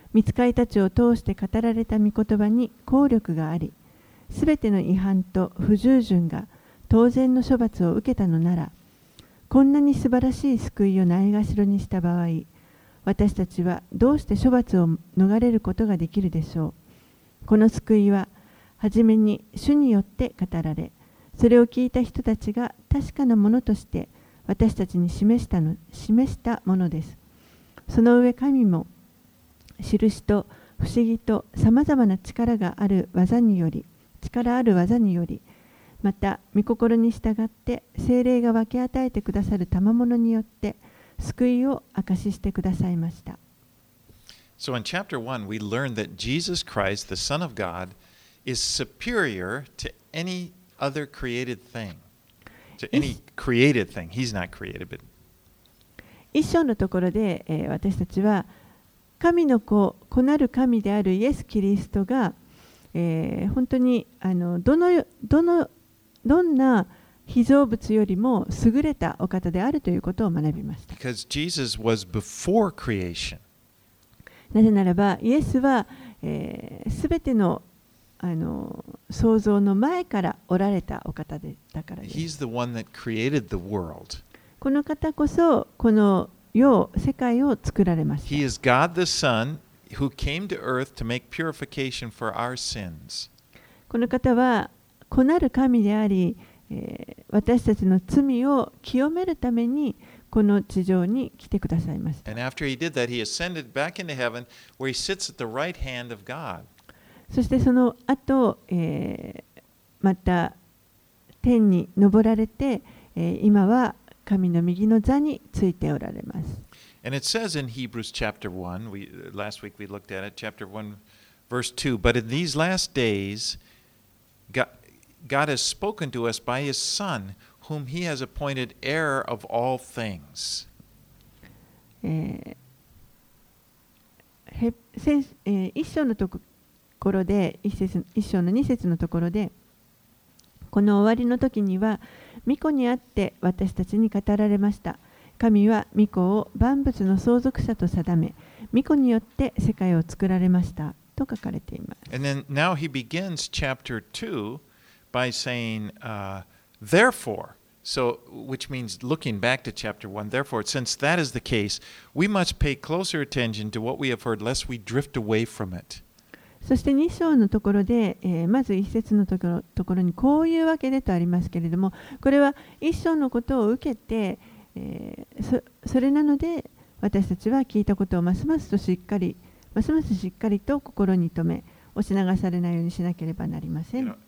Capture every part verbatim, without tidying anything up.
御使いたちを通して語られた御言葉に効力があり、すべての違反と不従順が当然の処罰を受けたのなら、こんなに素晴らしい救いをないがしろにした場合、私たちはどうして処罰を逃れることができるでしょう。この救いは、はじめに主によって語られ、それを聞いた人たちが確かなものとして私たちに示したの、示したものです。その上、神も、印と不思議とさまざまな力がある技により、力ある技により、また、御心に従って聖霊が分け与えてくださる賜物によって、救いを証ししてくださいました。 So in chapter one, we learned that Jesus Christ, the Son of God, is superior to any other created thing. To any created thing. He's not created, but... 一章のところで、えー、私たちは、神の子、子なる神であるイエス・キリストが、えー、本当にあのどの、どの、どんな被造物よりも優れたお方であるということを学びました。 Because Jesus was before creation. なぜならば、イエスはすべ、えー、ての、あの創造の前からおられたお方でだからです。 He's the one that created the world. この方こそ、この世、世界を作られました。 He is God the Son who came to earth to make purification for our sins. この方は、子なる神であり、えー、私たちの罪を清めるためにこの地上に来てくださいました。 And after he did that, he ascended back into heaven where he sits at the right hand of God. そしてその後、えー、また天に昇られて、えー、今は神の右の座についておられます。 And it says in Hebrews chapter one, we, last week we looked at it, chapter one, verse two, but in these last days, God, God has spoken to us by his Son, whom he has appointed heir of all things. えーえー、一章のところで、一節一章の二節のところで、この終わりの時には、御子にあって私たちに語られました。神は御子を万物の相続者と定め、御子によって世界を作られましたと書かれています。 And then now he begins chapter two by saying, uh, therefore, so which means looking back to chapter one, therefore, since that is the case, we must pay closer attention to what we have heard, lest we drift away from it. そしてに章のところで、えー、まずいち節のところ、ところにこういうわけでとありますけれども、これはいち章のことを受けて、えー、そ, それなので私たちは聞いたことをますますとしっかり、ますますしっかりと心に留め、押し流されないようにしなければなりません。 You know,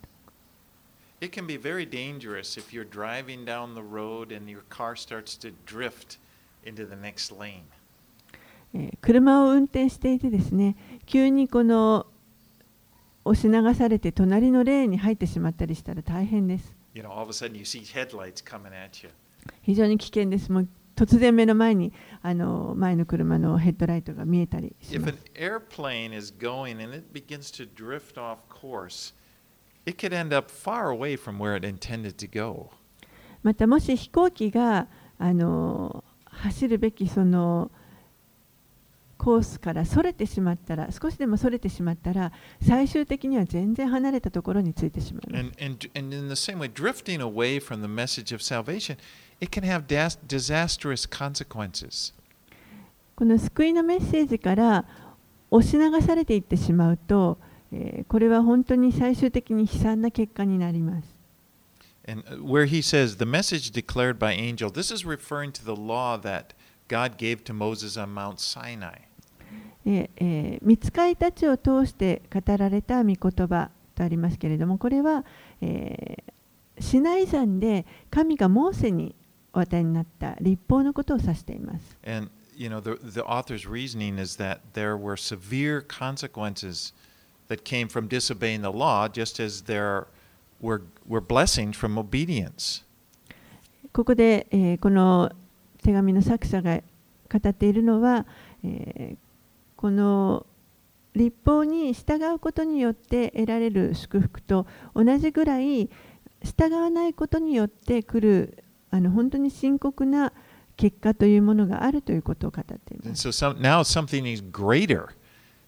it can be very dangerous if you're driving down the road and your car starts to drift into the next lane. えー、車を運転していてですね、急にこの押し流されて隣のレーンに入ってしまったりしたら大変です。 You know, all of a sudden you see headlights coming at you. 非常に危険です。もう突然目の前にあの前の車のヘッドライトが見えたりします。 If an airplane is going and it begins to drift off course, it could end up far away from where it intended to go. またもし飛行機があの走るべきそのコースからそれてしまったら、少しでもそれてしまったら、最終的には全然離れたところについてしまいます。 And, and, and in the same way, drifting away from the message of salvation, it can have disastrous consequences. この救いのメッセージから押し流されていってしまうと、えー、これは本当に最終的に悲惨な結果になります。 And where he says, the message declared by angel, this is referring to the law that God gave to Moses on Mount Sinai. えー、御使いたちを通して語られた御言葉とありますけれども、これは、えー、シナイ山で神がモーセにお与えになった律法のことを指しています。 And you know, the, the author's reasoning is that there were severe consequences that came from disobeying the law, just as there were, were blessings from obedience. ここで、えー、この手紙の作者が語っているのは、えーこの律法に従うことによって得られる祝福と同じぐらい従わないことによって来るあの本当に深刻な結果というものがあるということを語っています。 And so some, now something is greater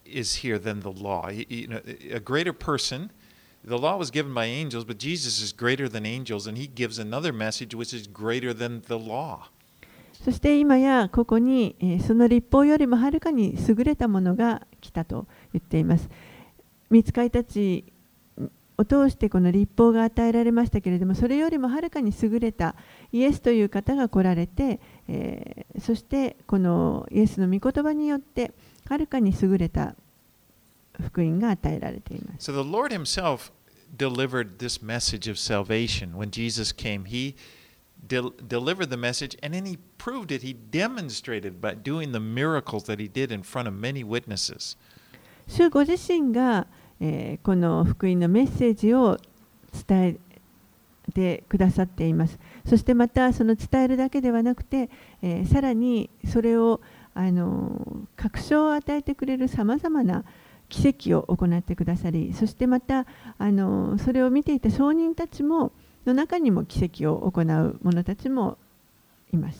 is here than the law. You, you know, a greater person, the law was given by angels, but Jesus is greater than angels, and he gives another message which is greater than the law. そして今やここに、えー、その律法よりもはるかに優れたものが来たと言っています。御使いたちを通してこの律法が与えられましたけれども、それよりもはるかに優れたイエスという方が来られて、えー、そしてこのイエスの御言葉によってはるかに優れた福音が与えられています。 So the Lord himself delivered this message of salvation. When Jesus came, he del- delivered the message, and then he proved it. He demonstrated by doing the miracles that he did in front of many witnesses. 主ご自身が、えー、この福音のメッセージを伝えてくださっています。そしてまたその伝えるだけではなくて、えー、さらにそれをあの確証を与えてくれるさまざまな奇跡を行ってくださり、そしてまたあのそれを見ていた証人たちもの中にも奇跡を行う者たちもいました。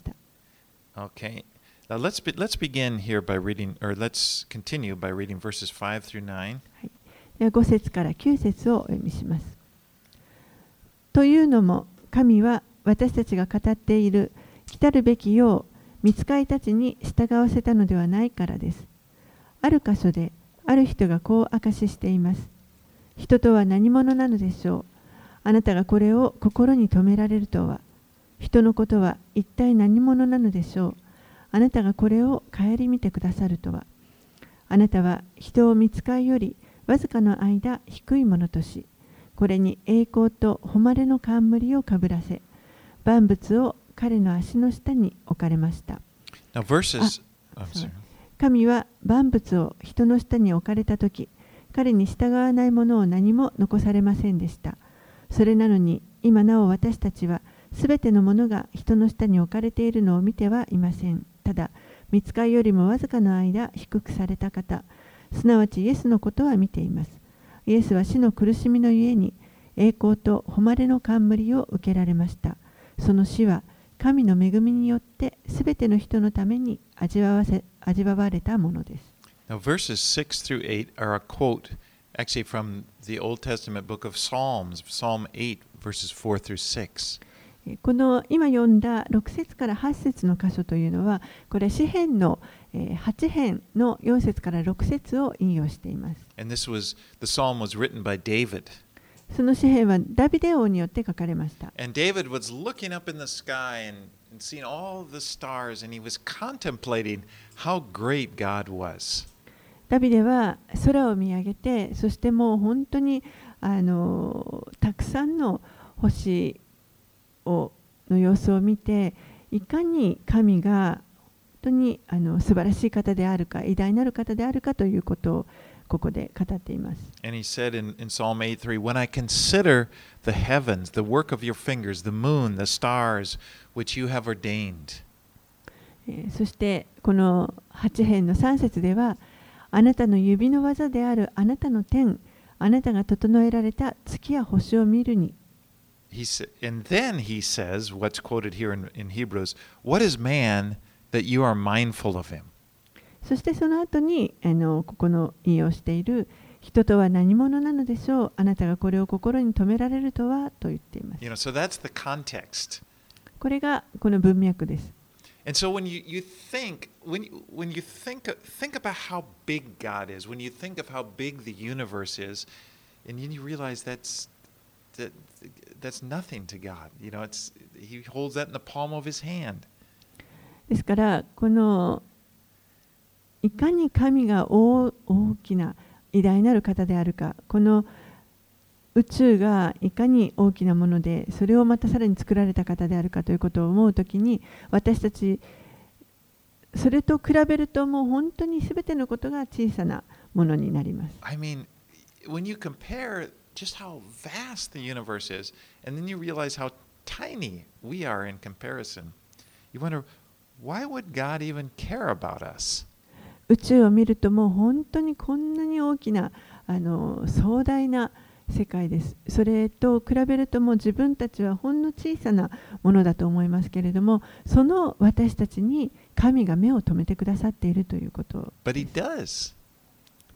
Okay. Now let's be, let's begin here by reading, or let's continue by reading verses five through nine. ではご節からきゅう節をお読みします。というのも、神は私たちが語っている来たるべきよう、御使いたちに従わせたのではないからです。ある箇所で、ある人がこう証ししています。人とは何者なのでしょう。あなたがこれを心に留められるとは。人のことは一体何者なのでしょう。あなたがこれを顧みてくださるとは。あなたは人を御使いよりわずかの間低いものとし、これに栄光と誉れの冠をかぶらせ、万物を彼の足の下に置かれました。 Now verses, oh, sorry. 神は万物を人の下に置かれたとき、彼に従わないものを何も残されませんでした。それなのに、今なお私たちは、すべてのものが人の下に置かれているのを見てはいません。ただ、御使いよりもわずかの間低くされた方、すなわちイエスのことは見ています。イエスは死の苦しみのゆえに、栄光と誉れの冠を受けられました。その死は、神の恵みによってすべての人のために味わわせ、味わわれたものです。 Now verses six through eight are a quote actually from the Old Testament book of Psalms, Psalm eight, verses four through six. この今読んだろく節からはち節の箇所というのは、これ詩編のはち編のよん節からろく節を引用しています。 And this was, the psalm was written by David. その詩編はダビデ王によって書かれました。 And David was looking up in the sky and, and seeing all the stars, and he was contemplating how great God was. ダビデは空を見上げて、そしてもう本当にあのたくさんの星をの様子を見て、いかに神が本当にあの素晴らしい方であるか、偉大なる方であるかということをここで語っています。 And he said in, in Psalm eight three, When I consider the heavens, the work of your fingers, the moon, the stars, which you have ordained. そしてこのはち編のさん節では、あなたの指の技であるあなたの天、あなたが整えられた月や星を見るに。 He said, and then he says, what's quoted here in, in Hebrews, What is man that you are mindful of him? そしてその後にあのここの引用している人とは何者なのでしょう、あなたがこれを心に留められるとはと言っています。 You know, so that's the context. これがこの文脈です。 And so when you, you think, when you, when you think, think about how big God is, when you think of how big the universe is, and then you realize that's, that, that's nothing to God. You know, it's, he holds that in the palm of his hand. ですからこのいかに神が 大, 大きな偉大なる方であるか、この宇宙がいかに大きなもので、それをまたさらに作られた方であるかということを思うときに、私たちそれと比べるともう本当にすべてのことが小さなものになります。 I mean, when you compare just how vast the universe is, and then you realize how tiny we are in comparison, you wonder, why would God even care about us? 宇宙を見るともう本当にこんなに大きなあの壮大な世界です。それと比べるともう自分たちはほんの小さなものだと思いますけれども、その私たちに神が目を留めてくださっているということ。 But he does.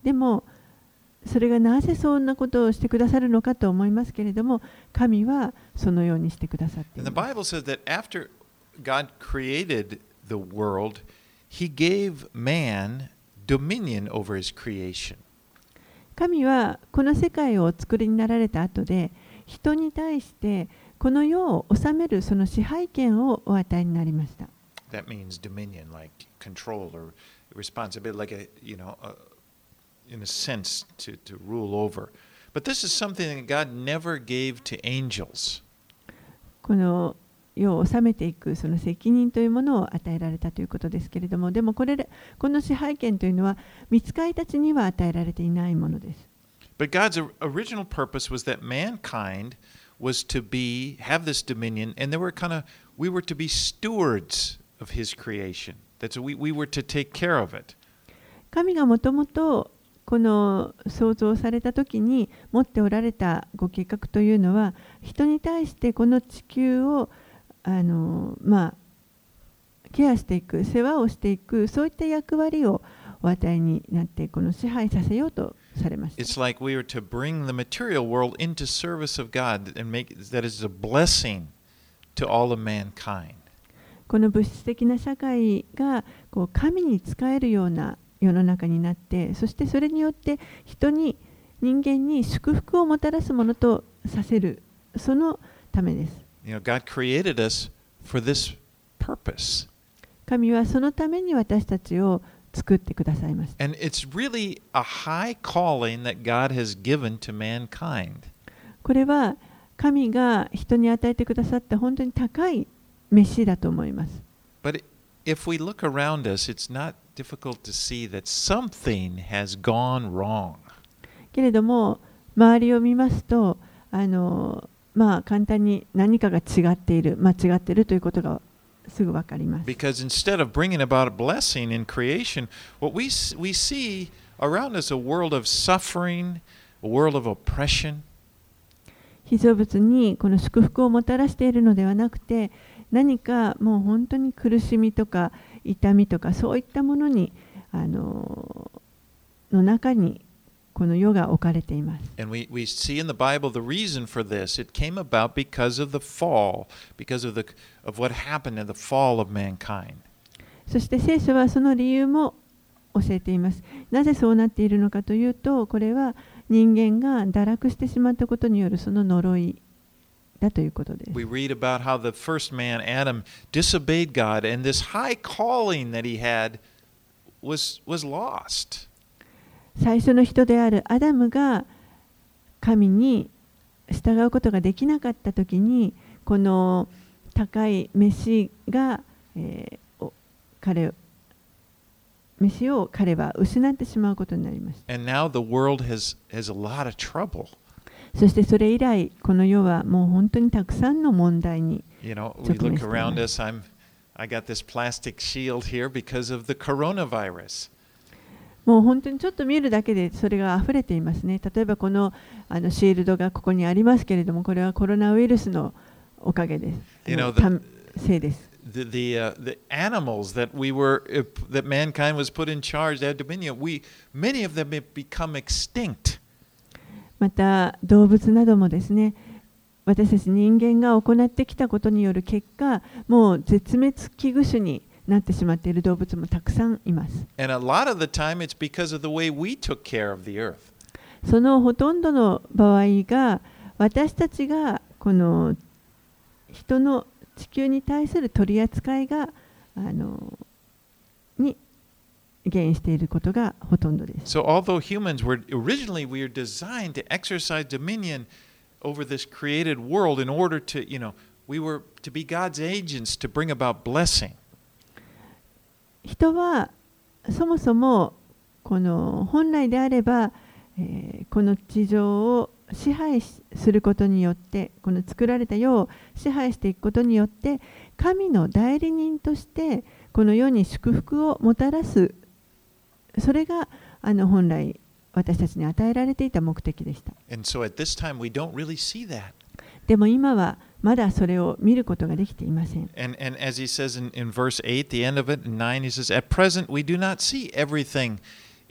でもそれがなぜそんなことをしてくださるのかと思いますけれども、神はそのようにしてくださってい And ま the す。 Bible says that after God created the world, He gave man dominion over his creation. 神はこの世界をお作りになられた後で、人に対してこの世を治めるその支配権をお与えになりました。 That means dominion, like control or responsibility, like a, you know, a, in a sense to, to rule over. But this is something that God never gave to angels. この世を治めていくその責任というものを与えられたということですけれども、でもこれこの支配権というのは御使いたちには与えられていないものです。 But God's original purpose was that mankind was to be have this dominion, and they were kind of we were to be stewards of His creation. That's we we were to take care of it. 神がもともとこの創造された時に持っておられたご計画というのは、人に対してこの地球をあのまあケアしていく、世話をしていく、そういった役割をお与えになって、この支配させようとされました。 It's like we were to bring the material world into service of God and make that is a blessing to all of mankind. この物質的な社会がこう神に仕えるような世の中になって、そしてそれによって人に人間に祝福をもたらすものとさせる、そのためです。 You know, God created us for this purpose. 神はそのために私たちを作ってくださいました。 And it's really a high calling that God has given to mankind. これは神が人に与えてくださった本当に高い召しだと思います。 But if we look around us, it's not difficult to see that something has gone wrong. けれども周りを見ますと、あのまあ簡単に何かが違っている、間違っているということがすぐわかります。 Because instead of bringing about a blessing in creation, what we we see around us a world of suffering, a world of oppression. 被造物にこの祝福をもたらしているのではなくて、何かもう本当に苦しみとか痛みとかそういったものにあのの中にこの世が置かれています。 And we, we see in the Bible the reason for this. It came about because of the fall, because of, the, of what happened in the fall of mankind. そして聖書はその理由も教えています。なぜそうなっているのかというと、これは人間が堕落してしまったことによるその呪いだということです。 We read about how the first man, Adam, disobeyed God, and this high calling that he had was, was lost. 最初の人であるアダムが神に従うことができなかったときに、この高い飯が、えー、彼飯を彼は失ってしまうことになりました。 And now the world has, has a lot of trouble. そしてそれ以来、この世はもう本当にたくさんの問題に You know, 直 we 面 look してい around ます。 us. I'm, I got this plastic shield here because of the coronavirus. もう本当にちょっと見るだけでそれが溢れていますね。例えばこの、あのシールドがここにありますけれども、これはコロナウイルスのおかげです。 You know, た the, せいです。 the, the, uh, the animals that we were, uh, that mankind was put in charge, they had dominion, we, many of them have become extinct. また動物などもですね、私たち人間が行ってきたことによる結果、もう絶滅危惧種になってしまっている動物もたくさんいます。 And a lot of the time it's because of the way we took care of the earth. そのほとんどの場合が、私たちがこの人の地球に対する取り扱いがあのに原因していることがほとんどです。 So although humans were originally we were designed to exercise dominion over this created world in order to, you know, we were to be God's agents to bring about blessing. 人はそもそもこの本来であれば、えー、この地上を支配することによって、この作られた世を支配していくことによって、神の代理人としてこの世に祝福をもたらす、それがあの本来私たちに与えられていた目的でした。 And so at this time we don't really see that. でも今はまだそれを見ることができていません。 And, and as he says in, in verse eight, the end of it, in nine, he says, At present we do not see everything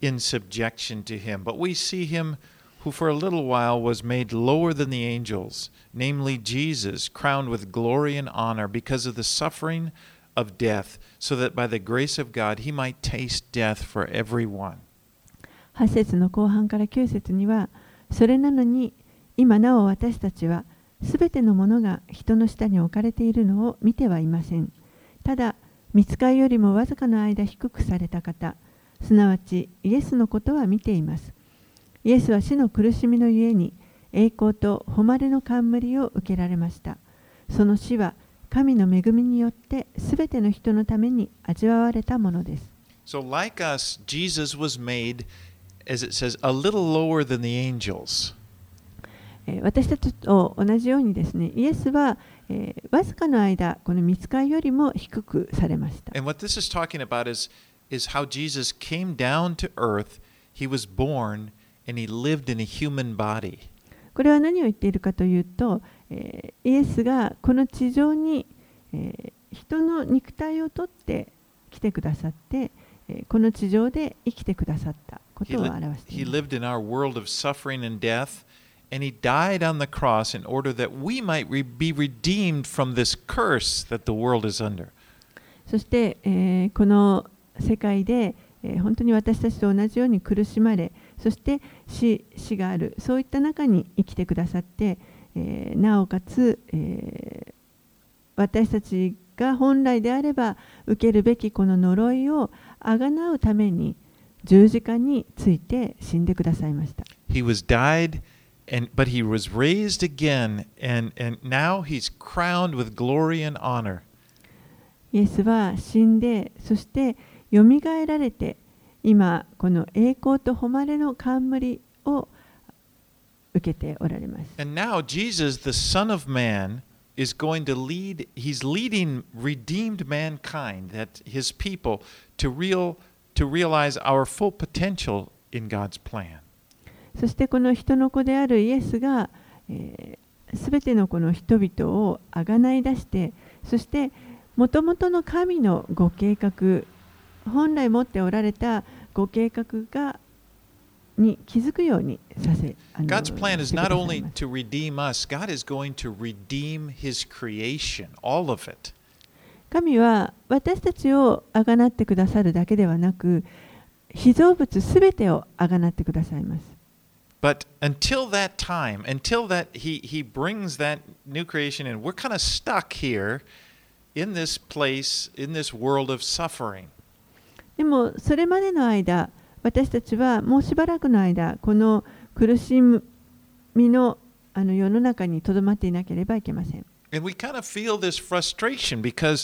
in subjection to him. But we see him who for a little while was made lower than the angels, namely Jesus, crowned with glory and honor because of the suffering of death, so that by the grace of God he might taste death for everyone. はち節の後半からきゅう節には、それなのに今なお私たちはすべてのものが人の下に置かれているのを見てはいません。ただ、御使いよりもわずかの間低くされた方、すなわちイエスのことは見ています。イエスは死の苦しみのゆえに栄光と誉れの冠を受けられました。その死は神の恵みによってすべての人のために味わわれたものです。 So like us, Jesus was made, as it says, a little lower than the angels. 私たちと同じようにですね、イエスは、えー、わずかの間、この御使いよりも低くされました。 And what this is talking about is, is how Jesus came down to earth, he was born, and he lived in a human body. これは何を言っているかというと、えー、イエスがこの地上に、えー、人の肉体をとって来てくださって、えー、この地上で生きてくださったことを表しています。 He lived in our world of suffering and death, and he died on the cross in order that we might re- be redeemed from this curse that the world is under. そして、えー、この世界で、えー、本当に私たちと同じように苦しまれ、そして死、死がある、そういった中に生きてくださって、えー、なおかつ、えー、私たちが本来であれば受けるべきこの呪いをあがなうために十字架について死んでくださいました。 He was died, and, but he was raised again, and, and now he's crowned with glory and honor. イエスは死んで、そしてよみがえられて、今この栄光と誉れの冠を受けておられます。 And now Jesus, the Son of Man, is going to lead, he's leading redeemed mankind, that his people, to real, to realize our full potential in God's plan. そしてこの人の子であるイエスが、えー、すべてのこの人々をあがない出して、そしてもともとの神のご計画、本来持っておられたご計画がに気づくようにさせ、あの God's plan is してくだ not さい only ます。 to redeem us, God is going to redeem his creation, all of it. 神は私たちをあがなってくださるだけではなく、被造物すべてをあがなってくださいます。 But until that time, until that he, he brings that new creation in, we're kind of stuck here in this place, in this world of suffering. でもそれまでの間、私たちはもうしばらくの間、この苦しみの、あの世の中にとどまっていなければいけません。 And we kind of feel this frustration because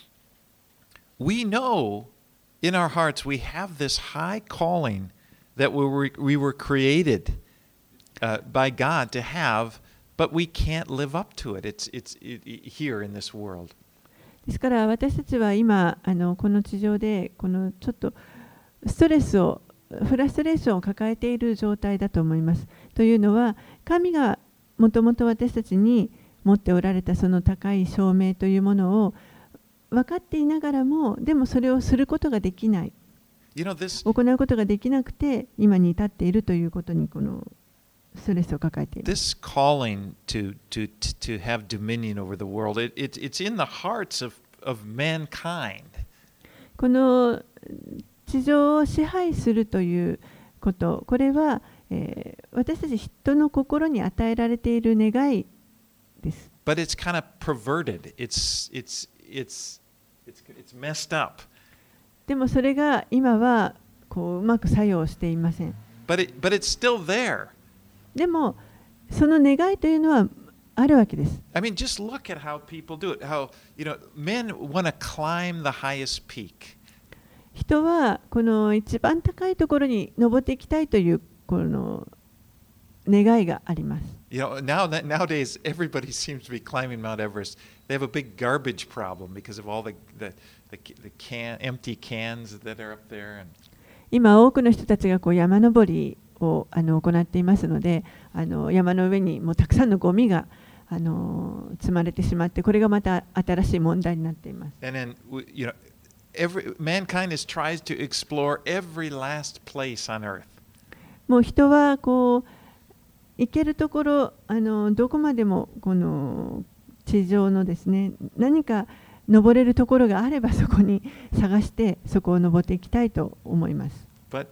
we know in our hearts we have this high calling that we were, we were created uh, by God to have, but we can't live up to it. It's, it's it, it, here in this world. ですから私たちは今あのこの地上でこのちょっとストレスをフラストレーションを抱えている状態だと思います。というのは神がもともと私たちに持っておられたその高い証明というものを分かっていながらも、でもそれをすることができない、 You know, this, 行うことができなくて今に至っているということにこのストレスを抱えています。 this calling to, to, to have dominion over the world, it, it, it's in the hearts of, of mankind. この地上を支配するということ、これは、えー、私たち人の心に与えられている願いです。 But it's kind of perverted. It's, it's, it's, it's, it's messed up. でもそれが今はこううまく作用していません。 But, it, but it's still there. でもその願いというのはあるわけです。 I mean, just look at how people do it. How, you know, men want to climb the highest peak. 人はこの一番高いところに登っていきたいというこの願いがあります。 You know, now that nowadays everybody seems to be climbing Mount Everest. They have a big garbage problem because of all the the the, the can empty cans that are up there. And 今多くの人たちがこう山登りをあの行っていますので、あの山の上にもうたくさんのゴミがあの積まれてしまって、これがまた新しい問題になっています。 and then you know, every mankind is tries to explore every last place on earth. もう人はこう行けるところ、あのどこまでもこの地上のですね、何か登れるところがあればそこに探してそこを登っていきたいと思います。 But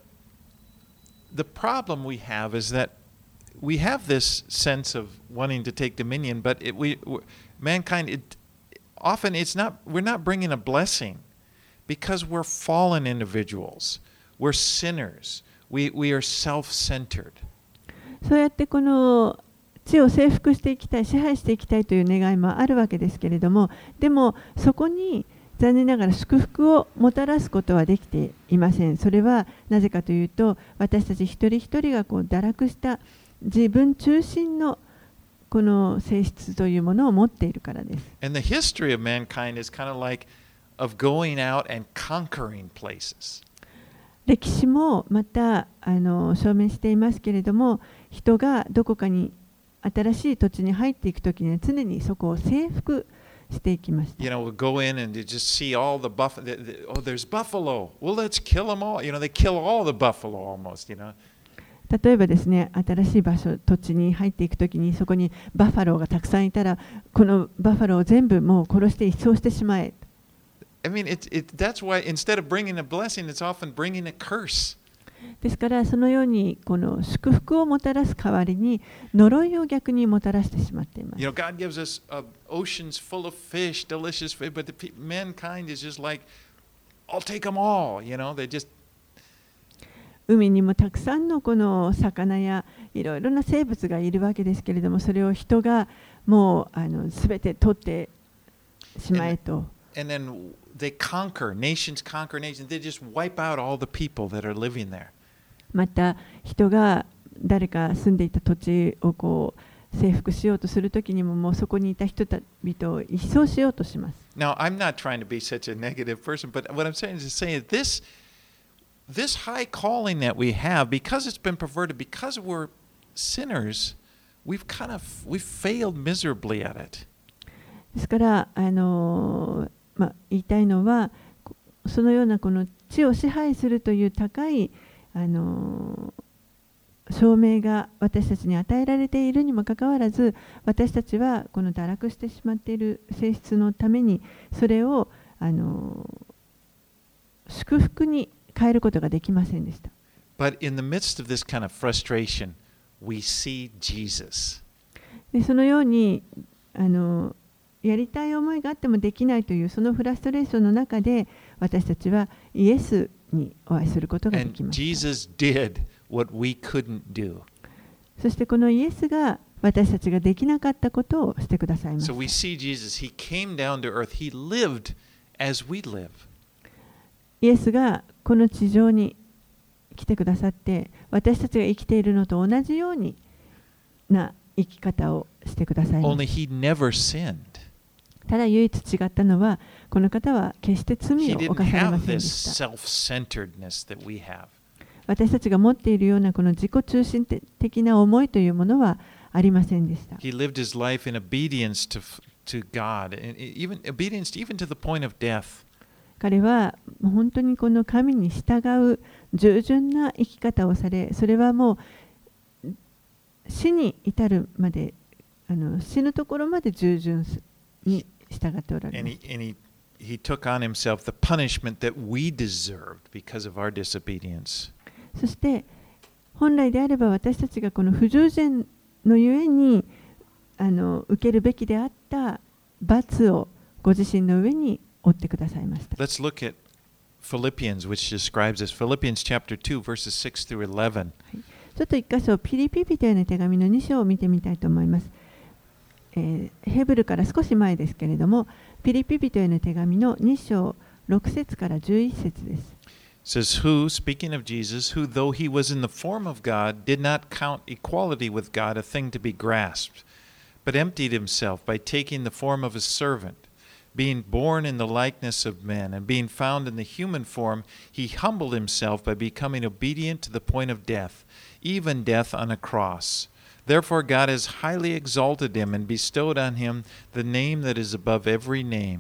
the problem we have is that we have this sense of wanting to take dominion, but it, we mankind it often it's not we're not bringing a blessing because we're fallen individuals. We're sinners. We we are self-centered. そうやってこの地を征服していきたい、支配していきたいという願いもあるわけですけれども、でもそこに残念ながら祝福をもたらすことはできていません。それはなぜかというと、私たち一人一人がこう堕落した自分中心のこの性質というものを持っているからです。 And the history of mankind is kind of like of going out and conquering places. 歴史もまたあの証明していますけれども、人がどこかに新しい土地に入っていくときには常にそこを征服していきました。 You know, we'll go in and you just see all the buffalo. Oh, there's buffalo. Well, let's kill them all. You know, they kill all the buffalo almost, you know. 例えばですね、新しい場所、土地に入っていくときにそこにバッファローがたくさんいたら、このバッファローを全部もう殺して一掃してしまえ。 I mean, it, it, that's why instead of bringing a blessing, it's often bringing a curse. ですからそのようにこの祝福をもたらす代わりに呪いを逆にもたらしてしまっています。 You know, God gives us uh, oceans full of fish, delicious fish, but the pe- mankind is just like, I'll take them all. You know, they just 海にもたくさんのこの魚やいろいろな生物がいるわけですけれども、それを人がもうあの全て取ってしまえと。 And then they conquer, nations conquer nations. They just wipe out all the people that are living there. また人が誰か住んでいた土地をこう征服しようとするときにも、もうそこにいた人々を一掃しようとします。 Now, I'm not trying to be such a negative person, but what I'm saying is to say this, this high calling that we have, because it's been perverted, because we're sinners, we've kind of we've failed miserably at it. ですからあのまあ、言いたいのは、そのようなこの地を支配するという高いあの証明が私たちに与えられているにもかかわらず、私たちはこの堕落してしまっている性質のためにそれをあの祝福に変えることができませんでした。 But in the midst of this kind of frustration, we see Jesus. でそのようにあのやりたい思いがあってもできないというそのフラストレーションの中で、私たちはイエスにお会いすることができました。 Jesus did what we couldn't do. そしてこのイエスが私たちができなかったことをしてくださいました。 So we see Jesus, he came down to earth, he lived as we live. イエスがこの地上に来てくださって、私たちが生きているのと同じようにな生き方をしてくださいました。 Only he never sinned. ただ唯一違ったのは、この方は決して罪を He 犯 didn't されま have せんで this した。 self-centeredness that we have. 私たちが持っているようなこの自己中心的な思いというものはありませんでした。 He lived his life in obedience to, to God, and even obedience even to the point of death. 彼は本当にこの神に従う従順な生き方をされ、それはもう死に至るまで、あの死ぬところまで従順に従っておられ And ます。 he, and he, he took on himself the punishment that we deserved because of our disobedience. そして本来であれば私たちがこの不従順のゆえにあの受けるべきであった罰をご自身の上に負ってくださいました。 Let's look at Philippians, which describes this. Philippians chapter two, verses six through eleven. ちょっと一箇所ピリピ人への手紙のに章を見てみたいと思います。えー、ヘブルから少し前ですけれども、ピリピ人への手紙のに章ろく節からじゅういち節です。 It says, Who, speaking of Jesus, who though he was in the form of God, did not count equality with God a thing to be grasped, but emptied himself by taking the form of a servant. Being born in the likeness of men, and being found in the human form, he humbled himself by becoming obedient to the point of death, even death on a cross. Therefore God has highly exalted him and bestowed on him the name that is above every name,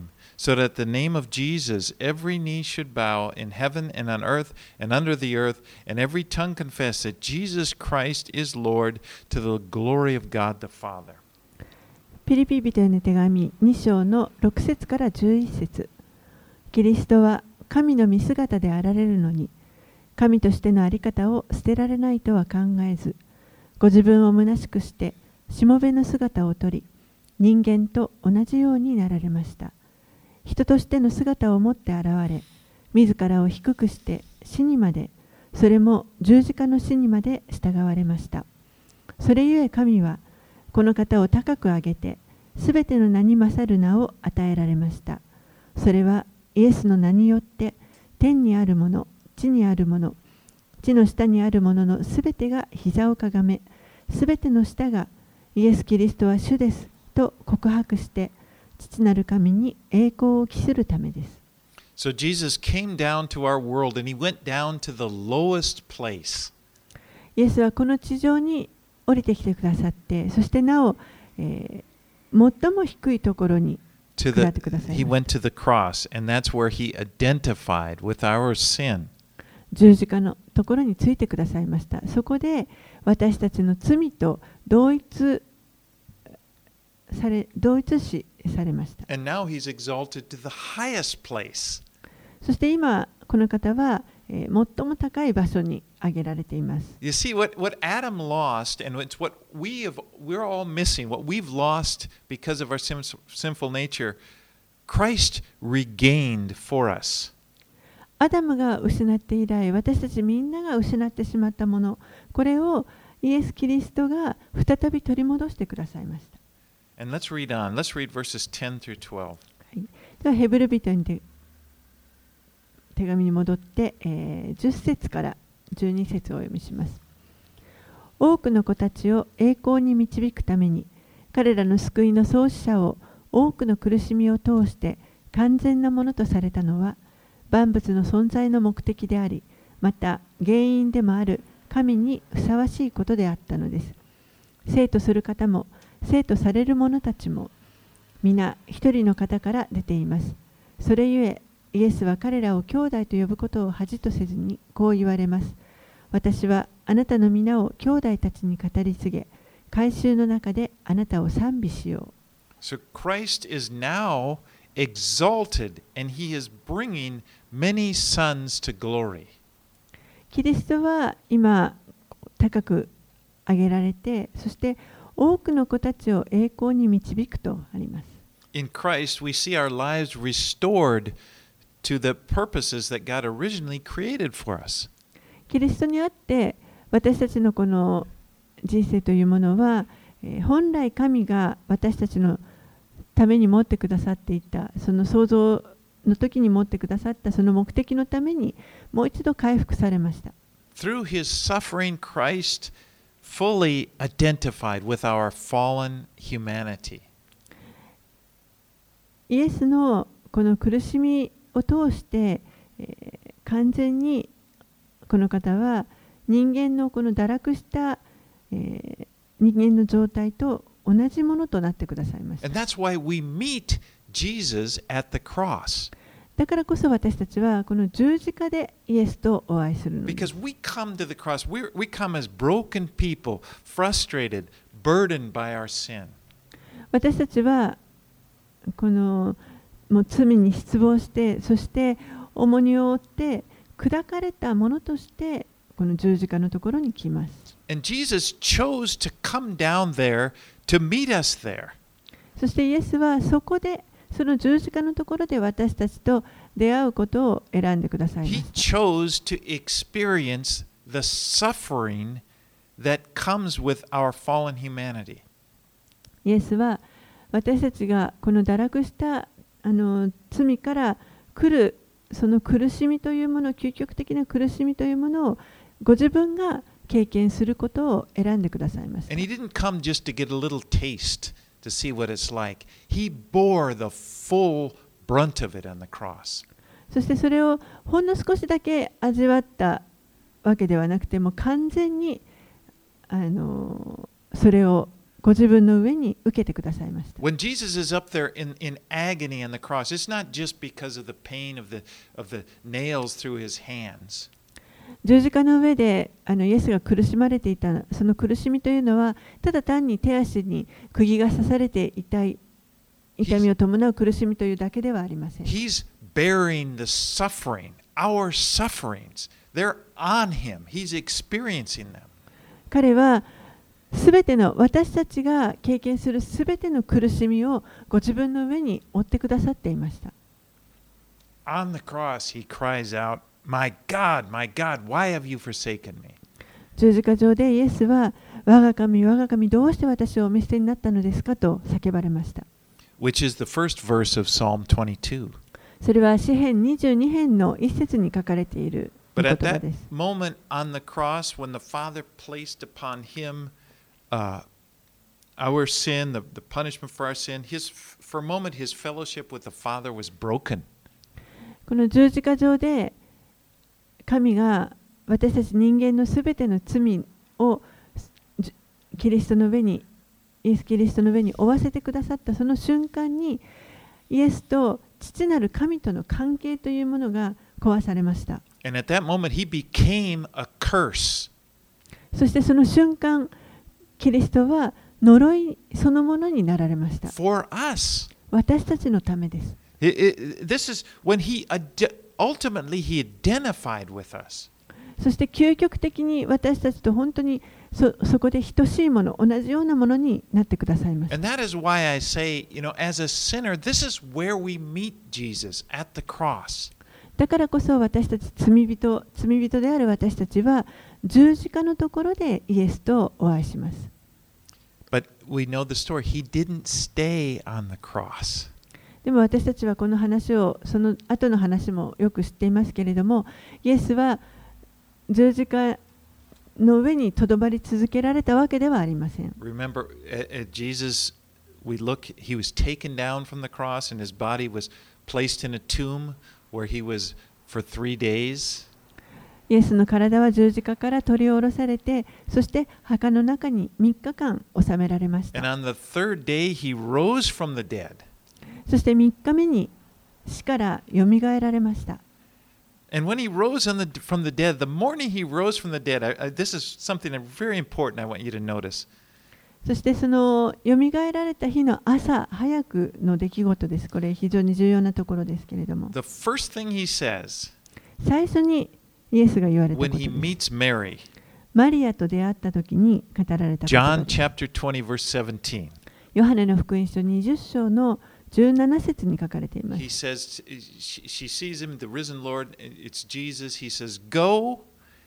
so that the name of Jesus every knee should bow in heaven and on earth and under the earth, and every tongue confess that Jesus Christ is Lord, to the glory of God the Father. ピリピ人への手紙に章のろく節からじゅういち節。キリストは神の御姿であられるのに、神としてのあり方を捨てられないとは考えず、ご自分を虚しくしてしもべの姿をとり、人間と同じようになられました。人としての姿を持って現れ、自らを低くして死にまで、それも十字架の死にまで従われました。それゆえ神はこの方を高く上げて、すべての名に勝る名を与えられました。それはイエスの名によって、天にあるもの、地にあるもの、地の下にあるもののすべてが膝をかがめ、すべての舌がイエス・キリストは主ですと告白して、父なる神に栄光を期するためです。 So Jesus came down to our world and he went down to the lowest place. イエスはこの地上に降りてきてくださって、そしてなお、えー、最も低いところに下ってくださいました。 He went to the cross, and that's where he identified with our sin. 十字架のところについてくださいました。そこで私たちの罪と同一され、同一視されました。 And now he's exalted to the highest place. そして今この方は、えー、最も高い場所に挙げられています。 You see what, what Adam lost, and it's what we have, we're all missing, what we've lost because of our sin, sinful nature, Christ regained for us. アダムが失って以来、私たちみんなが失ってしまったもの、これをイエス・キリストが再び取り戻してくださいました。 And let's read on. Let's read verses ten through twelve. はい、ではヘブル人に手手紙に戻って、えー、じゅっ節からじゅうに節をお読みします。多くの子たちを栄光に導くために、彼らの救いの創始者を多くの苦しみを通して完全なものとされたのは、万物の存在の目的であり、また原因でもある神にふさわしいことであったのです。生とする方も生とされる者たちも皆一人の方から出ています。それゆえイエスは彼らを兄弟と呼ぶことを恥とせずにこう言われます。私はあなたの皆を兄弟たちに語り継げ、改宗の中であなたを賛美しよう。 So Christ is now exalted, and he is bringing many sons to glory. キリストは今高く上げられて、そして多くの子たちを栄光に導くとあります。 In Christ, we see our lives restored to the purposes that God originally created for us. キリストにあって私たちのこの人生というものは、えー、本来神が私たちのために持ってくださっていた、その創造の時に持ってくださったその目的のためにもう一度回復されました。 Through his suffering, Christ fully identified with our fallen humanity. イエスのこの苦しみを通して、えー、完全にこの方は人間のこの堕落した、えー、人間の状態と同じものとなってくださいました。 And that's why we meet Jesus at the cross. だからこそ私たちはこの十字架でイエスとお会いするのです。 Because we come to the cross, we we come as broken people, frustrated, burdened by our sin. 私たちはこのもう罪に失望して、そして重荷を負って砕かれたものとしてこの十字架のところに来ます。 And Jesus chose to come down there to meet us there. そしてイエスはそこでその十字架のところで私たちと出会うことを選んでくださいま He した。 chose to experience the suffering that comes with our fallen humanity. イエスは私たちがこの堕落したあの罪から来るその苦しみというもの、究極的な苦しみというものをご自分が経験することを選んでくださいました。 And he didn't come just to get a little taste to see what it's like. He bore the full brunt of it on the cross. そしてそれをほんの少しだけ味わったわけではなくても、完全にあのそれをご自分の上に受けてくださいました。 When Jesus is up there in, in agony on the cross, it's not just because of the pain of the, of the nails through his hands. 十字架の上であのイエスが苦しまれていたその苦しみというのはただ単に手足に釘が刺されて痛い痛みを伴う苦しみというだけではありません。 He's bearing the suffering, our sufferings. They're on him. He's experiencing them. 彼はすべての私たちが経験するすべての苦しみをご自分の上に負ってくださっていました。 On the cross, he cries out, My God, my God, why have you forsaken me? 十字架上でイエスは我が神我が神どうして私をお見捨てになったのですかと叫ばれました。 Which is the first verse of Psalm twenty-two. それは詩編にじゅうに編の一節に書かれている御 But 言 at 葉 that です。 moment on the cross, when the Father placed upon him uh, our sin, the, the punishment for our sin, his, for a moment his fellowship with the Father was broken. この十字架上で神が私たち人間のすべての罪をキリストの上にイエス・キリストの上に負わせてくださったその瞬間にイエスと父なる神との関係というものが壊されました。 And at that moment he became a curse. そしてその瞬間キリストは呪いそのものになられました。 For us. 私たちのためです。 It, it, this is when he ultimately he identified with us. そして究極的に私たちと本当に そ, そこで等しいもの、同じようなものになってくださいます。 And that is why I say, you know, as a sinner, this is where we meet Jesus at the cross. だからこそ私たち罪人、罪人である私たちは十字架のところでイエスとお会いします。 But we know the story. He didn't stay on the cross. でも私たちはこの話を、その後の話もよく知っていますけれども、イエスは十字架の上にとどまり続けられたわけではありません。 Remember, at, at Jesus, we look, he was taken down from the cross and his body was placed in a tomb where he was for three days. イエスの体は十字架から取り下ろされて、そして墓の中にみっかかん収められました。 And on the third day, he rose from the dead. そしてみっかめに死からよみがえられました。 And when he rose on the, from the dead, the morning he rose from the dead, I, I, this is something very important I want you to notice. そしてそのよみがえられた日の朝早くの出来事です。これ非常に重要なところですけれども、 The first thing he says 最初にイエスが言われたこ when と he です。 meets Mary, マリアと出会った時に語られた言葉 John です。 chapter twenty, verse seventeen. ヨハネの福音書にじゅっ章のじゅうなな節に書かれていま He す。 says, she, she sees him, the risen Lord, it's Jesus. He says, Go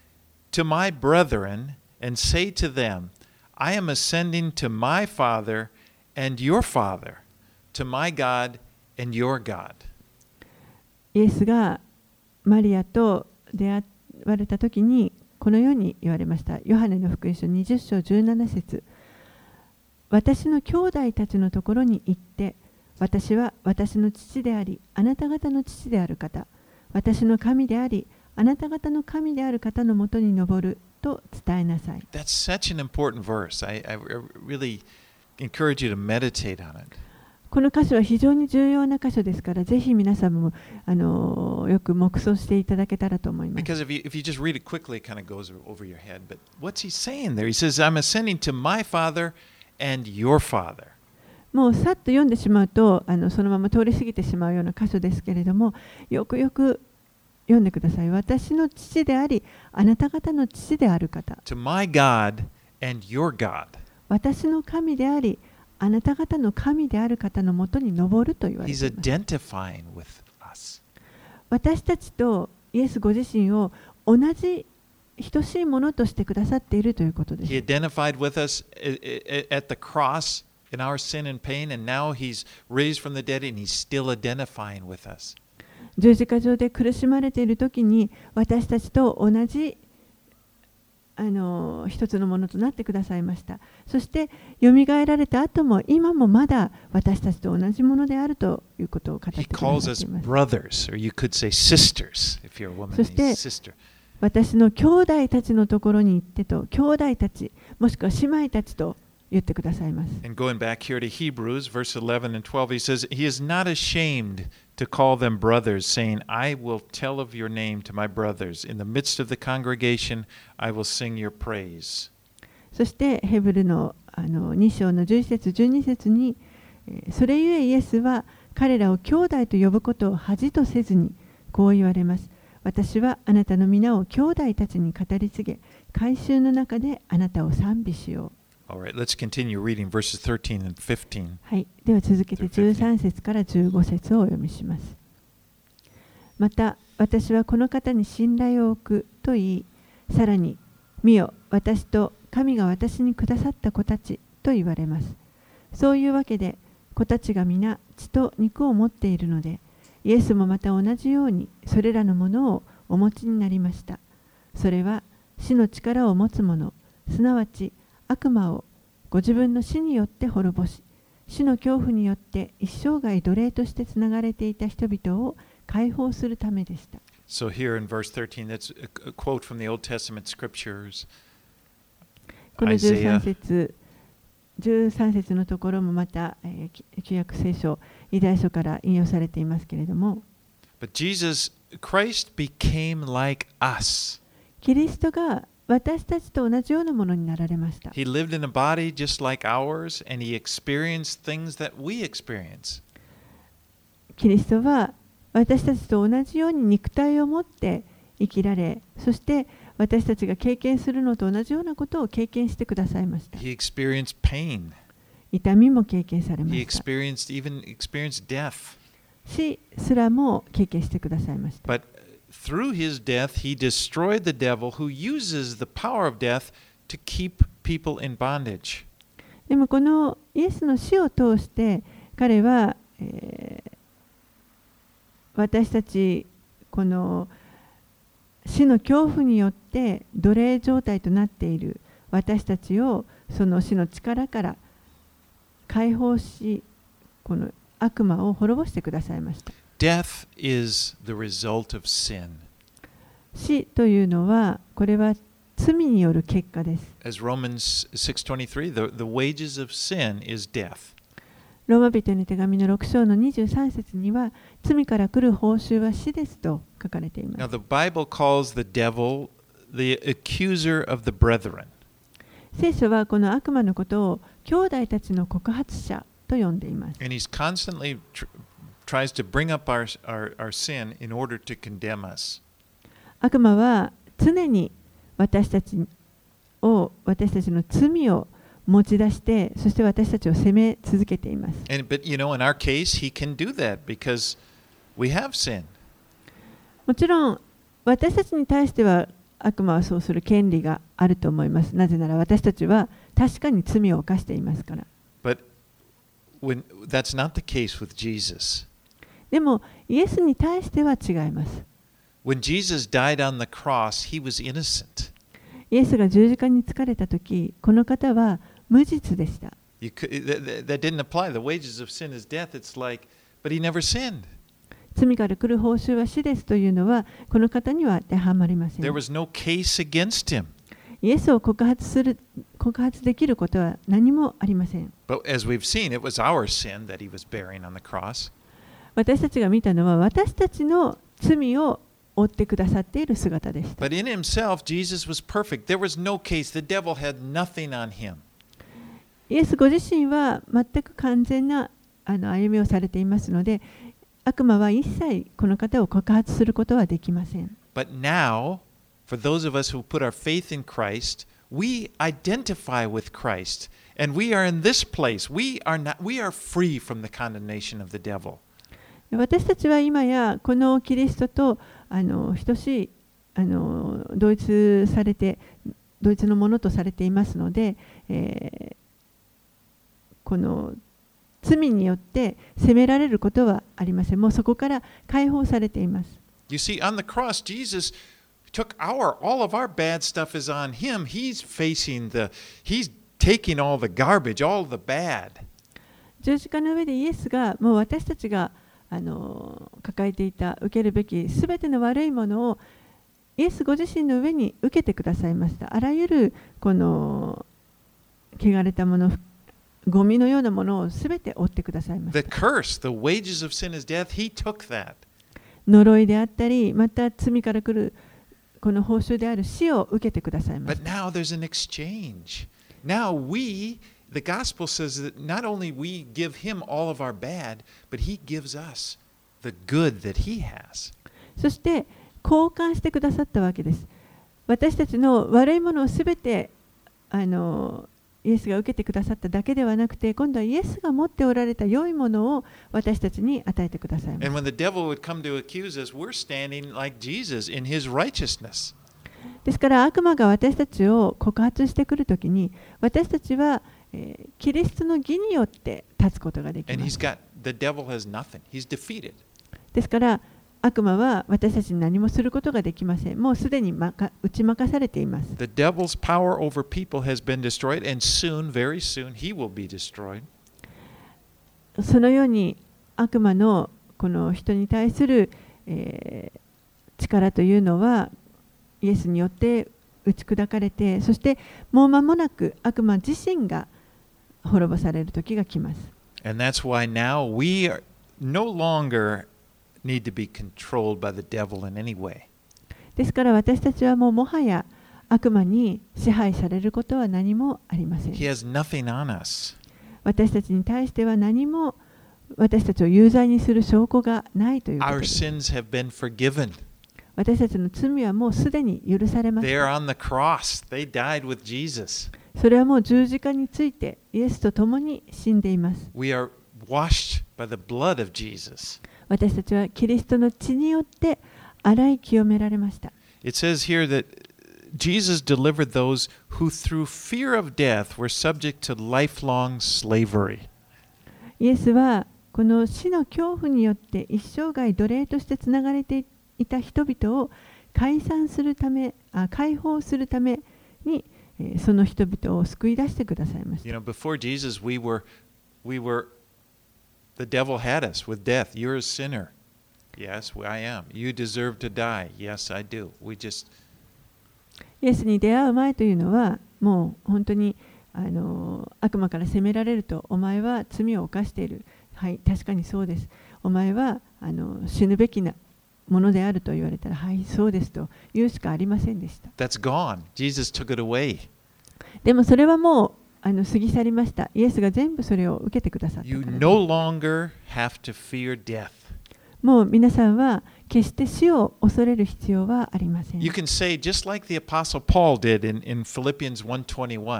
to my brethren and say to them, I am ascending to my Father and your Father, to my God and your God. イエスがマリアと出会われた時にこのように言われました。ヨハネの福音書にじゅっ章じゅうなな節。私の兄弟たちのところに行って、私は私の父であり、あなた方の父である方、私の神であり、あなた方の神である方のもとに登ると伝えなさい。 That's such an important verse. I, I really encourage you to meditate on it. この箇所は非常に重要な箇所ですから、ぜひ皆さんもあのよく黙想していただけたらと思います。 Because if you, if you just read it quickly, it kind of goes over your head. But what's he saying there? He says, I'm ascending to my Father and your Father. もうさっと読んでしまうとあのそのまま通り過ぎてしまうような箇所ですけれども、よくよく読んでください。私の父であり、あなた方の父である方。 To my God and your God. 私の神であり、あなた方の神である方のもとに登ると言われてい He's ます。 identifying with us. 私たちとイエスご自身を同じ等しいものとしてくださっているということです。 He identified with us at the cross in our sin and pain, and now he's raised from the dead and he's still identifying with us. 十字架上で苦しまれているときに私たちと同じあの一つのものとなってくださいました。そしてよみがえられた後も今もまだ私たちと同じものであるということを語ってく He だ calls さっ us ています。 brothers, or you could say sisters, if you're a woman, そして he's sister. 私の兄弟たちのところに行ってと、兄弟たちもしくは姉妹たちと言ってくださいます。 And going back here to Hebrews, verse eleven and twelve, he says, He is not ashamed to call them brothers, saying, I will tell of your name to my brothers. In the midst of the congregation, I will sing your praise. そしてヘブルのあのに章のじゅういち節じゅうに節に、えーそれゆえイエスは彼らを兄弟と呼ぶことを恥とせずにこう言われます。私はあなたの皆を兄弟たちに語り継げ、改宗の中であなたを賛美しよう。 All right, let's continue reading verses thirteen and fifteen. はい、では続けてじゅうさん節からじゅうご節をお読みします。また私はこの方に信頼を置くと言い、さらに見よ私と神が私にくださった子たちと言われます。そういうわけで子たちが皆血と肉を持っているので、イエスもまた同じようにそれらのものをお持ちになりました。それは死の力を持つ者、すなわち悪魔をご自分の死によって滅ぼし、死の恐怖によって一生涯奴隷としてつながれていた人々を解放するためでした。 So here in verse thirteen, that's a quote from the Old Testament scriptures. このじゅうさん節、じゅうさん節のところもまた、えー、旧約聖書、イザヤ書から引用されていますけれども、 But Jesus, Christ became like us. キリストが私たちと同じようなものになられました。 He lived in a body just like ours, and he experienced things that we experience. キリストは私たちと同じように肉体を持って生きられ、そして私たちが経験するのと同じようなことを経験してくださいました。 He experienced pain. 痛みも経験されま He した。 experienced even experienced death. 死すらも経験してくださいました。 But through his death, he destroyed the devil who uses the power of death to keep people in bondage. でもこのイエスの死を通して彼は、えー私たちこの死の恐怖によって奴隷状態となっている私たちをその死の力から解放し、この悪魔を滅ぼしてくださいました。 Death is the result of sin. 死というのはこれは罪による結果です。 As Romans six twenty-three, the, the wages of sin is death. ローマ人の手紙のろく章のにじゅうさん節には罪から来る報酬は死ですと書かれています。 Now, the Bible calls the devil the accuser of the brethren. 聖書はこの悪魔のことを兄弟たちの告発者と呼んでいます。 And he's constantly tr- tries to bring up our, our, our sin in order to condemn us. 悪魔は常に私たちを私たちの罪を持ち出して、そして私たちを責め続けています。 And, but, you know, in our case, he can do that because we have sin. もちろん私たちに対しては悪魔はそうする権利があると思います。なぜなら私たちは確かに罪を犯していますから。 But when, that's not the case with Jesus. でもイエスに対しては違います。 When Jesus died on the cross, he was innocent. イエスが十字架につかれたとき、この方は無実でした。 You could, that, that didn't apply. The wages of sin is death. It's like, but he never sinned. 罪から来る報酬は死ですというのはこの方には当てはまりません。 There was no case against him. イエスを告発する告発できることは何もありません。 But as we've seen, it was our sin that he was bearing on the cross. 私たちが見たのは私たちの罪を負ってくださっている姿でした。 But in himself, Jesus was perfect. There was no case. The devil had nothing on him. イエスご自身は全く完全なあの歩みをされていますので、悪魔は一切この方を告発することはできません。 But now, for those of us who put our faith in Christ, we identify with Christ. And we are in this place. We are not, we are free from the condemnation of the devil. 私たちは今やこのキリストとあの等しいあの同一されて同一のものとされていますので、えー、この罪によって責められることはありません。もうそこから解放されています。 You see, on the cross, Jesus took our, all of our bad stuff is on him. He's facing the, he's taking all the garbage, all the bad. 十字架の上でイエスがもう私たちがあの抱えていた受けるべきすべての悪いものをイエスご自身の上に受けてくださいました。あらゆるこの汚れたもの、ゴミのようなものをすべて負ってくださいまし The た。 curse, the wages of sin is death, he took that. 呪いであったり、また罪から来るこの報酬である死を受けてくださいまし But た。 now there's an exchange. Now we, the gospel says that not only we give him all of our bad, but he gives us the good that he has. そして交換してくださったわけです。私たちの悪いものをすべてあのイエスが受けてくださっただけではなくて、今度はイエスが持っておられた良いものを私たちに与えてくださいます。 And when the devil would come to accuse us, we're standing like Jesus in his righteousness. ですから悪魔が私たちを告発してくるときに、私たちは、えーキリストの義によって立つことができ And ま he's す。 got, the devil has nothing. He's defeated. ですから悪魔は私たちに何もすることができません。もうすでにまか打ち負かされています。 The devil's power over people has been destroyed, and soon, very soon, he will be destroyed. そのように悪魔のこの人に対する、えー力というのはイエスによって打ち砕かれて、そしてもう間もなく悪魔自身が滅ぼされる時が来ます。 And that's why now we are no longer need to be controlled by the devil in any way. ですから私たちはもうもはや悪魔に支配されることは何もありません。 He has nothing on us. 私たちに対しては何も私たちを有罪にする証拠がないということ Our です。 sins have been forgiven. 私たちの罪はもうすでに許されまし They た。 are on the cross. They died with Jesus. それはもう十字架についてイエスと共に死んでいます。 We are washed by the blood of Jesus. 私たちはキリストの血によって洗い清められました。 It says here that Jesus delivered those who through fear of death were subject to lifelong slavery. イエスはこの死の恐怖によって一生涯奴隷としてつながれていた人々を解散するため、あ解放するために、えーその人々を救い出してくださいまし You た。 know, before Jesus, we were, we were, the devil had us with death. You're a sinner. Yes, I am. You deserve to die. Yes, I do. We just, イエスに出会う前というのはもう本当にあの悪魔から責められると、お前は罪を犯している。はい、確かにそうです。お前はあの死ぬべきなものであると言われたら、はい、そうですと言うしかありませんでした。 that's gone. Jesus took it away. でもそれはもうあの過ぎ去りました。イエスが全部それを受けてくださった You からです。 no longer have to fear death. もう皆さんは決して死を恐れる必要はありません。 You can say, just like the Apostle Paul did in, in Philippians one twenty-one,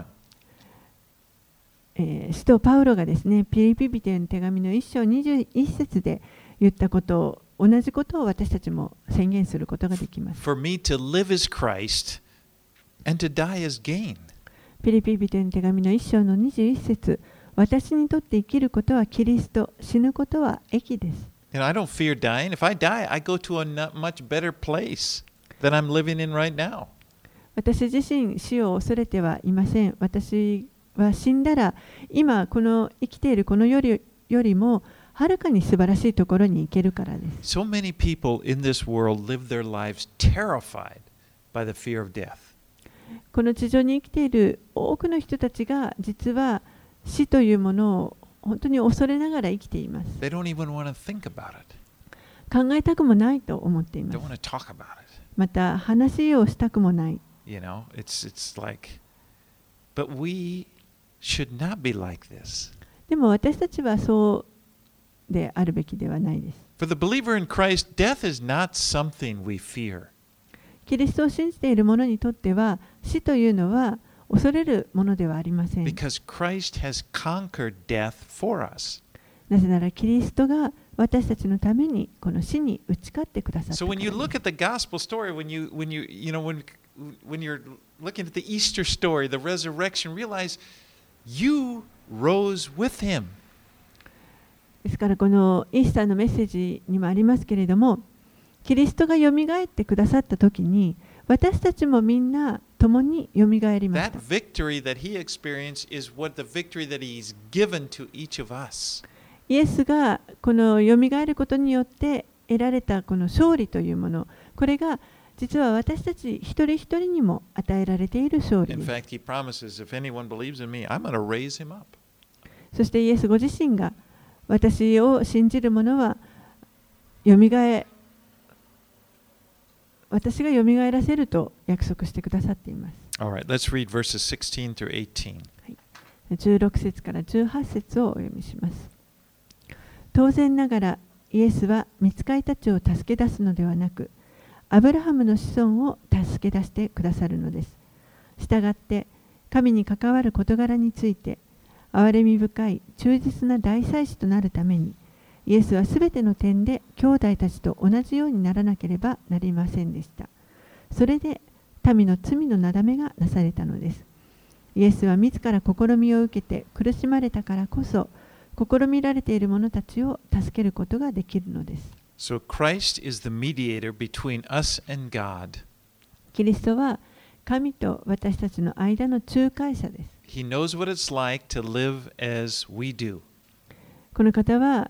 えー使徒パウロがですね、ピリピ人への手紙のいっ章にじゅういち節で言ったことを、同じことを私たちも宣言することができます。 For me to live as Christ and to die as gain. ピリピ人への手紙のいっ章のにじゅういち節、私にとって生きることはキリスト、死ぬことは益です。 You know, I don't fear dying. If I die, I go to a not much better place than I'm living in right now. 私自身死を恐れてはいません。私は死んだら今この生きているこのよりよりもはるかに素晴らしいところに行けるからです。 So many people in this world live their lives terrified by the fear of death. この地上に生きている多くの人たちが実は死というものを本当に恐れながら生きています。 They don't even want to think about it. 考えたくもないと思っていま Don't す。 want to talk about it. また話をしたくもない。 You know, it's it's like, but we should not be like this. でも私たちはそうであるべきではないです。 For the believer in Christ, death is not something we fear. キリストを信じている者にとっては死というのは恐れるものではありません。 Because Christ has conquered death for us. なぜならキリストが私たちのためにこの死に打ち勝ってくださった So から when で you す。 look at the gospel story, when you when you you know when when you're looking at the Easter story, the resurrection, realize you rose with him. ですからこのイースターのメッセージにもありますけれども、キリストがよみがえってくださったときに私たちもみんな共によみがえりまし That た。 victory that he experienced is what the victory that he's given to each of us. イエスがこのよみがえることによって得られたこの勝利というもの、これが実は私たち一人一人にも与えられている勝利 In です。 fact, he promises, if anyone believes in me, I'm going to raise him up. そしてイエスご自身が私を信じる者はよみがえ私がよみがえらせると約束してくださっています。 All right, let's read verses sixteen through eighteen. じゅうろく節からじゅうはち節をお読みします。当然ながらイエスは御使いたちを助け出すのではなく、アブラハムの子孫を助け出してくださるのです。したがって神に関わる事柄について憐れみ深い忠実な大祭司となるために、イエスはすべての点で兄弟たちと同じようにならなければなりませんでした。それで民の罪のなだめがなされたのです。イエスは自ら試みを受けて苦しまれたからこそ、試みられている者たちを助けることができるのです。 So Christ is the mediator between us and God. キリストは神と私たちの間の仲介者です。 He knows what it's like to live as we do. この方は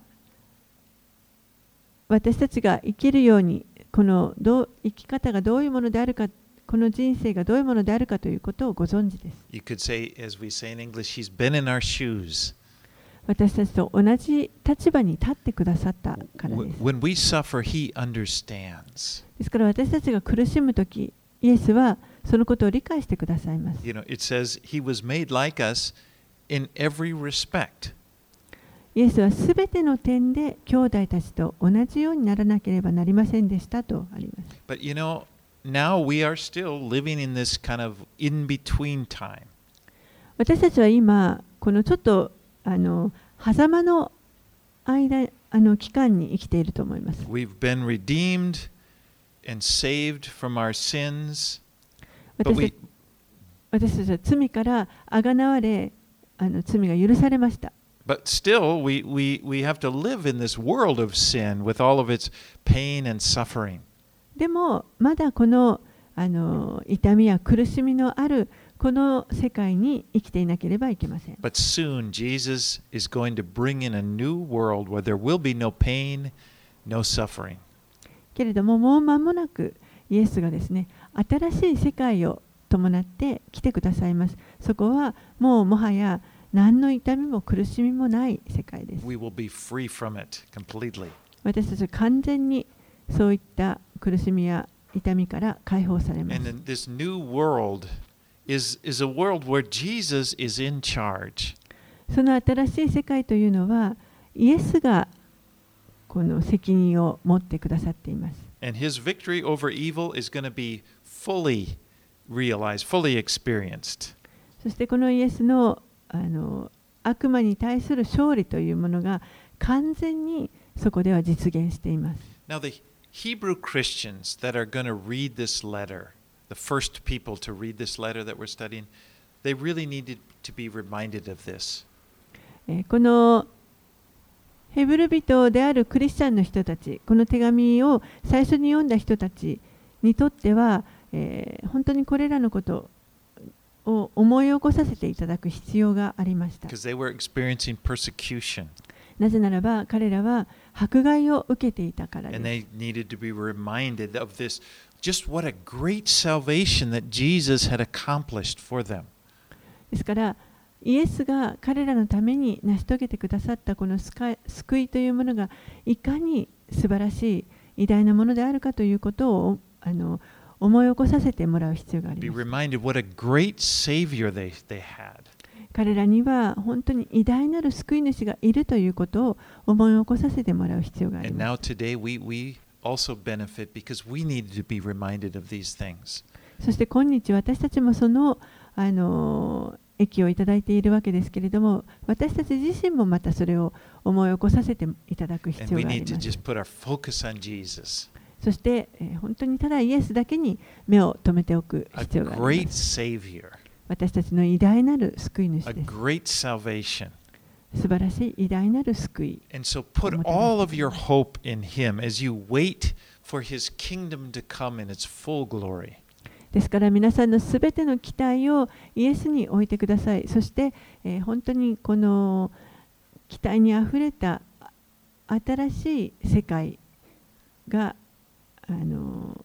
私たちが生きるように、このどう生き方がどういうものであるか、この人生がどういうものであるかということをご存知です。 You could say, as we say in English, He's been in our shoes. 私たちと同じ立場に立ってくださったからです。 When we suffer, He understands. ですから私たちが苦しむとき、イエスはそのことを理解してくださいます。 You know, it says He was made like us in every respect. イエスはすべての点で兄弟たちと同じようにならなければなりませんでしたとあります。 But you know, now we are still living in this kind of in-between time. 私たちは今、このちょっとあの狭間の間、あの期間に生きていると思います。 We've been redeemed and saved from our sins. But 私 we, た私たちは罪からあがなわれ、あの罪が許されました。 but still, we, we, we have to live in this world of sin with all of its pain and suffering. でもまだこの、あの痛みや苦しみのあるこの世界に生きていなければいけません。 But soon, Jesus is going to bring in a new world where there will be no pain, no suffering. けれどももう間もなくイエスがですね、新しい世界を伴って来てくださいます。そこはもうもはや何の痛みも苦しみもない世界です。 We will be free from it completely. 私たちは完全にそういった苦しみや痛みから解放されます。 And then this new world is, is a world where Jesus is in charge. その新しい世界というのはイエスがこの責任を持ってくださっています。 And his victory over evil is going to be fully realized, fully experienced. そしてこのイエスの、あの悪魔に対する勝利というものが完全にそこでは実現しています。 Now, the Hebrew Christians that are going to read this letter, the first people to read this letter that we're studying, they really needed to be reminded of this. えーこのヘブル人であるクリスチャンの人たち、この手紙を最初に読んだ人たちにとっては、えー本当にこれらのことを思い起こさせていただく必要がありました。 Because they were experiencing persecution なぜならば彼らは迫害を受けていたからです。 and they needed to be reminded of this, just what a great salvation that Jesus had accomplished for them. ですからイエスが彼らのために成し遂げてくださったこの救いというものがいかに素晴らしい偉大なものであるかということをあの思い起こさせてもらう必要があり Be ます。 reminded what a great Savior they, they had. 彼らには本当に偉大なる救い主がいるということを思い起こさせてもらう必要があり And ま now す。 today we, we also benefit because we needed to be reminded of these things. そして今日私たちもその、あの益をいただいているわけですけれども、私たち自身もまたそれを思い起こさせていただく必 And 要 we があり need to ます。 just put our focus on Jesus, そして、えー本当にただイエスだけに目を留めておく a 必要があり great ます。 Savior, 私たちの偉大なる救い主 a です。 great salvation. 素晴らしい偉大なる救い。 And so put all of your hope in Him as you wait for His kingdom to come in its full glory. ですから皆さんのすべての期待をイエスに置いてください。そして、えー本当にこの期待にあふれた新しい世界があの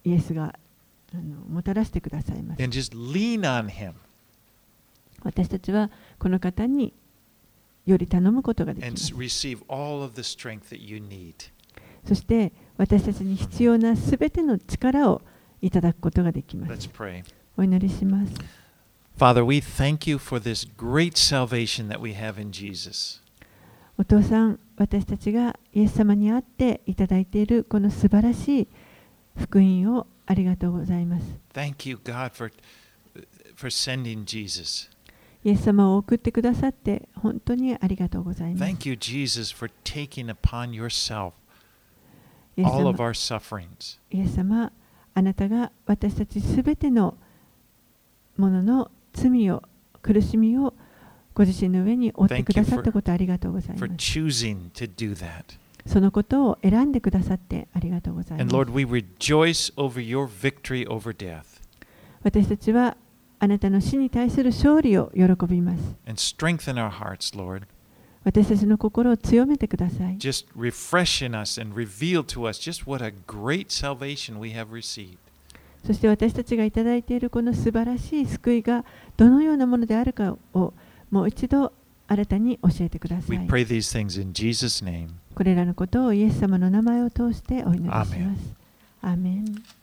イエスがあのもたらしてくださいます。 And just lean on Him 私たちはこの方により頼むことができま and す。 receive all of the strength that you need. そして私たちに必要なすべての力をいただくことができます。 Let's pray. お祈りします。 Father, we thank you for this great salvation that we have in Jesus. お父さん、私たちがイエス様に会っていただいているこの素晴らしい福音をありがとうございます。 Thank you, God, for, for sending Jesus. イエス様を送ってくださって本当にありがとうございます。 Thank you, Jesus, for taking upon yourself イエス all of 様、 our sufferings. イエス様、あなたが私たちすべてのものの罪を、苦しみをご自身の上に負ってくださったことありがとうござい For ます。 choosing to do that. そのことを選んでくださってありがとうございま And す。 Lord, we rejoice over your victory over death 私たちはあなたの死に対する勝利を喜びます。 and strengthen our hearts, Lord. 私たちの心を強めてください。 Just refresh in us and reveal to us just what a great salvation we have received. そして私たちがいただいているこの素晴らしい救いがどのようなものであるかをもう一度新たに教えてくださ We い。 pray these things in Jesus' name. これらのことをイエス様の名前を通してお祈りします。 アーメン。 アーメン。